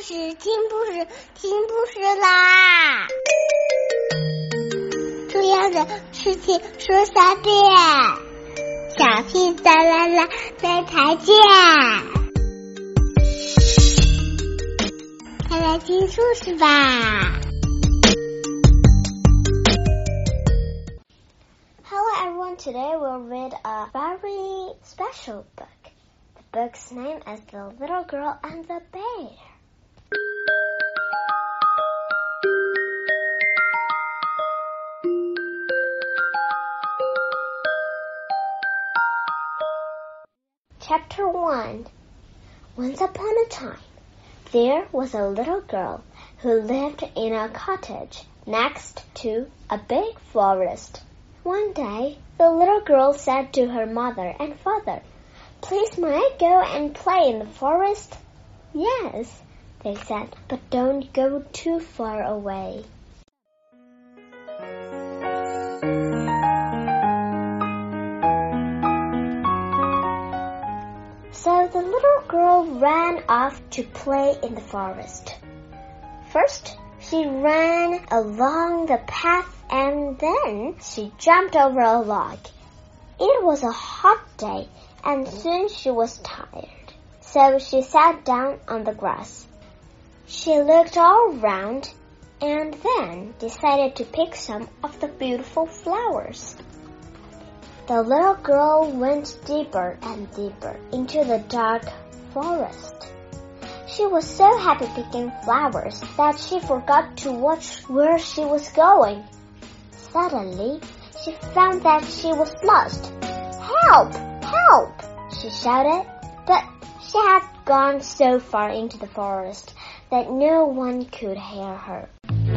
事，听故事，听故事啦！重要的事情说3遍，小屁哒啦啦，明天见！快来听故事吧。Hello everyone, today we'll read a very special book. The book's name is The Little Girl and the Bear. Chapter 1. Once upon a time, there was a little girl who lived in a cottage next to a big forest. One day, the little girl said to her mother and father, "Please, may I go and play in the forest?" "Yes," they said, "but don't go too far away." So the little girl ran off to play in the forest. First, she ran along the path and then she jumped over a log. It was a hot day and soon she was tired, so she sat down on the grass. She looked all around and then decided to pick some of the beautiful flowers. The little girl went deeper and deeper into the dark forest. She was so happy picking flowers that she forgot to watch where she was going. Suddenly, she found that she was lost. "Help! Help!" she shouted, but she had gone so far into the forest that no one could hear her.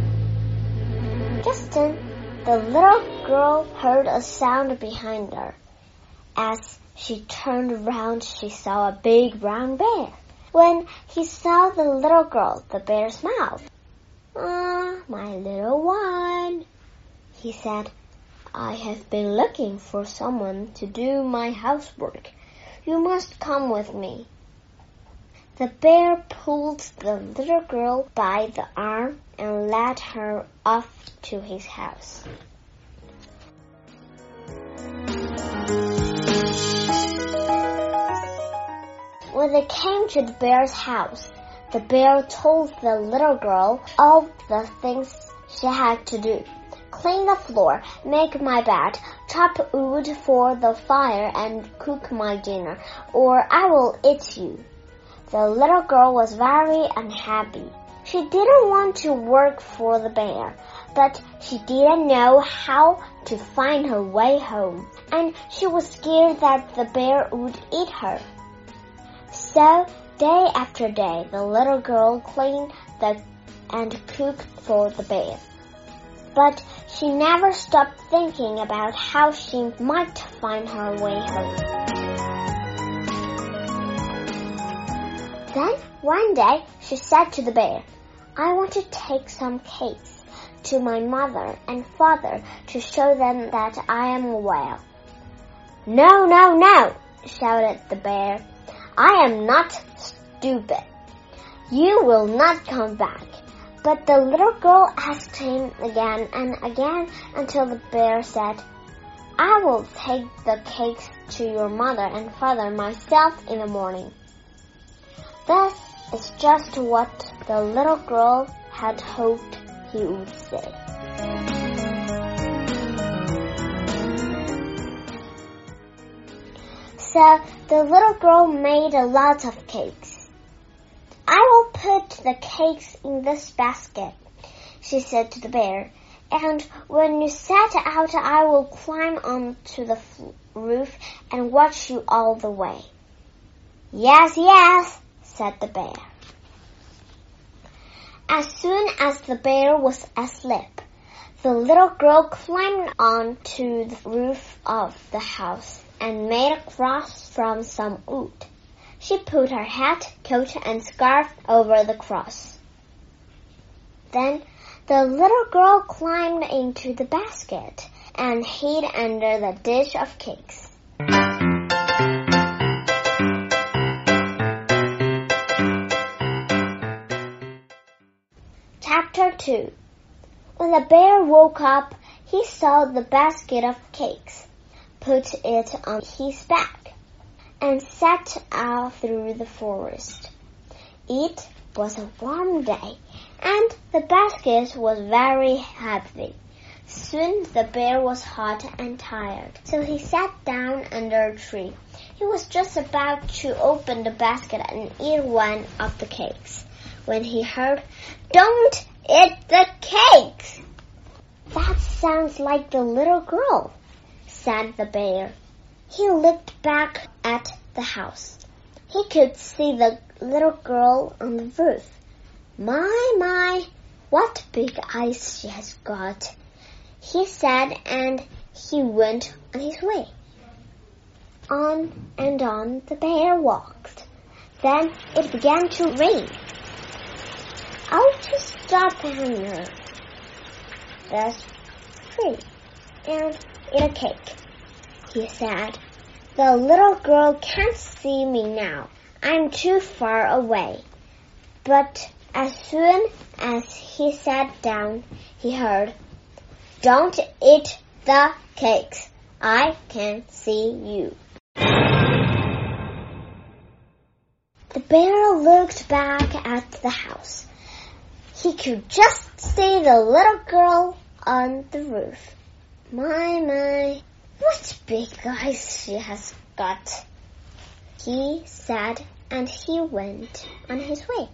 Just then, the little girl heard a sound behind her. As she turned around, she saw a big brown bear. When he saw the little girl, the bear smiled. "Ah, my little one," he said, "I have been looking for someone to do my housework. You must come with me." The bear pulled the little girl by the arm and led her off to his house. When they came to the bear's house, the bear told the little girl all the things she had to do. "Clean the floor, make my bed, chop wood for the fire, and cook my dinner, or I will eat you." The little girl was very unhappy. She didn't want to work for the bear, but she didn't know how to find her way home, and she was scared that the bear would eat her. So, day after day, the little girl cleaned and cooked for the bear. But she never stopped thinking about how she might find her way home. Then, one day, she said to the bear, "I want to take some cakes to my mother and father to show them that I am well." "No, no, no," shouted the bear. "I am not stupid. You will not come back." But the little girl asked him again and again until the bear said, "I will take the cakes to your mother and father myself in the morning." This is just what the little girl had hoped he would say. So the little girl made a lot of cakes. "I will put the cakes in this basket," she said to the bear, "and when you set out, I will climb onto the roof and watch you all the way." "Yes, yes," said the bear. As soon as the bear was asleep, the little girl climbed onto the roof of the house and made a cross from some wood. She put her hat, coat, and scarf over the cross. Then the little girl climbed into the basket and hid under the dish of cakes. Chapter 2. When the bear woke up, he saw the basket of cakes, put it on his back, and set out through the forest. It was a warm day, and the basket was very heavy. Soon the bear was hot and tired, so he sat down under a tree. He was just about to open the basket and eat one of the cakes, when he heard, "Don't eat the cakes!" "That sounds like the little girl," said the bear. He looked back at the house. He could see the little girl on the roof. My, what big eyes she has got," he said, and he went on his way. On and on the bear walked. Then it began to rain. "I'll just stop under this tree and eat a cake," he said. "The little girl can't see me now. I'm too far away." But as soon as he sat down, he heard, "Don't eat the cakes. I can see you." The bear looked back at the house. He could just see the little girl on the roof. My, what big eyes she has got," he said, and he went on his way.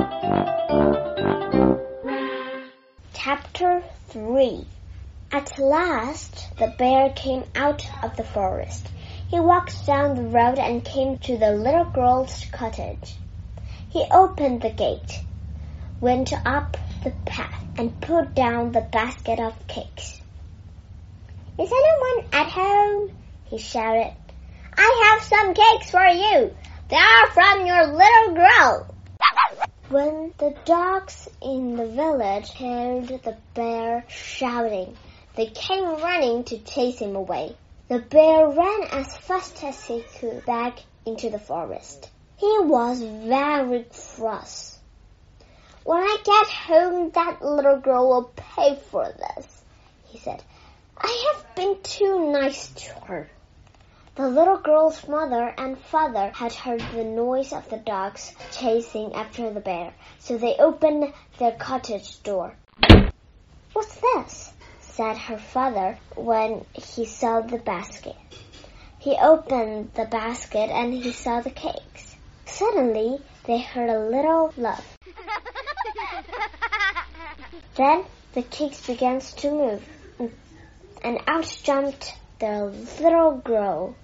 Chapter 3. At last, the bear came out of the forest. He walked down the road and came to the little girl's cottage. He opened the gate, went up the path, and put down the basket of cakes. "Is anyone at home?" he shouted. "I have some cakes for you. They are from your little girl." When the dogs in the village heard the bear shouting, they came running to chase him away. The bear ran as fast as he could back into the forest. He was very cross. "When I get home, that little girl will pay for this," he said. "I have been too nice to her." The little girl's mother and father had heard the noise of the dogs chasing after the bear, so they opened their cottage door. "What's this?" said her father when he saw the basket. He opened the basket and he saw the cakes. Suddenly, they heard a little laugh. Then the cakes began to move, and out jumped the little girl.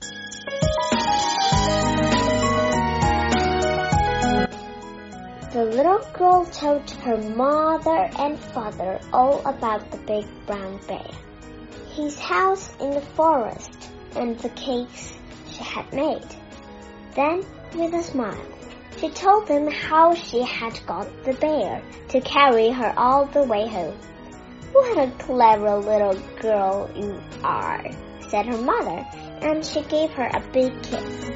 The little girl told her mother and father all about the big brown bear, his house in the forest, and the cakes she had made. Then, with a smile, she told them how she had got the bear to carry her all the way home. "What a clever little girl you are," said her mother, and she gave her a big kiss.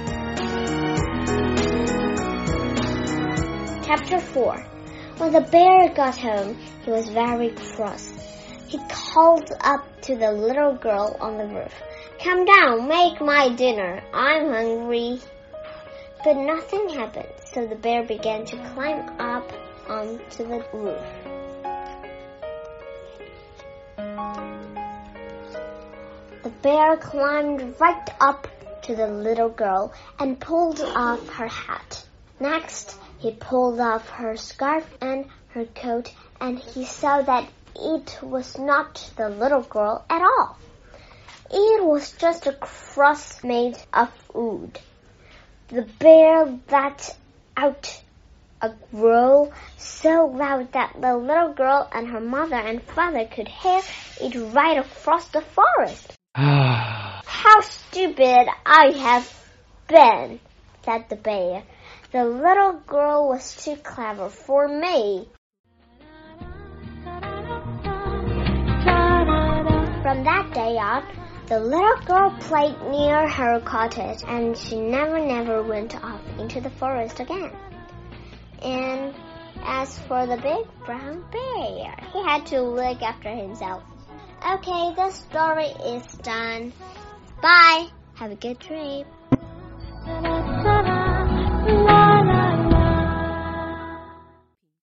Chapter 4. When the bear got home, he was very cross. He called up to the little girl on the roof, "Come down, make my dinner. I'm hungry." But nothing happened, so the bear began to climb up onto the roof. The bear climbed right up to the little girl and pulled off her hat. Next, he pulled off her scarf and her coat, and he saw that it was not the little girl at all. It was just a cross made of wood. The bear let out a growl so loud that the little girl and her mother and father could hear it right across the forest. "How stupid I have been," said the bear. "The little girl was too clever for me." From that day on, the little girl played near her cottage, and she never went off into the forest again. And As for the big brown bear, he had to look after himself. Okay, the story is done. Bye. Have a good trip.